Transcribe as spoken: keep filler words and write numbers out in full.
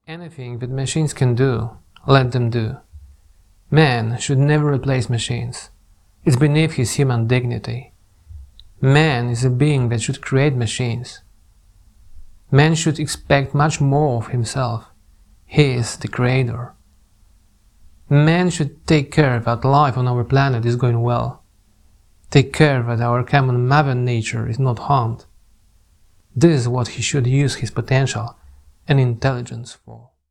Anything that machines can do, let them do. Man should never replace machines. It's beneath his human dignity. Man is a being that should create machines. Man should expect much more of himself. He is the creator. Man should take care that life on our planet is going well. Take care that our common mother nature is not harmed. This is what he should use his potential and intelligence for.